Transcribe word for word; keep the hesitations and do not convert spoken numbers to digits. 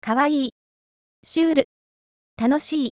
かわいい、シュール、楽しい。